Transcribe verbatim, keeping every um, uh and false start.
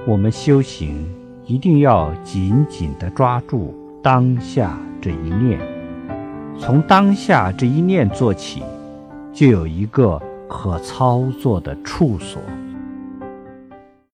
我们修行一定要紧紧地抓住当下这一念，从当下这一念做起，就有一个可操作的处所。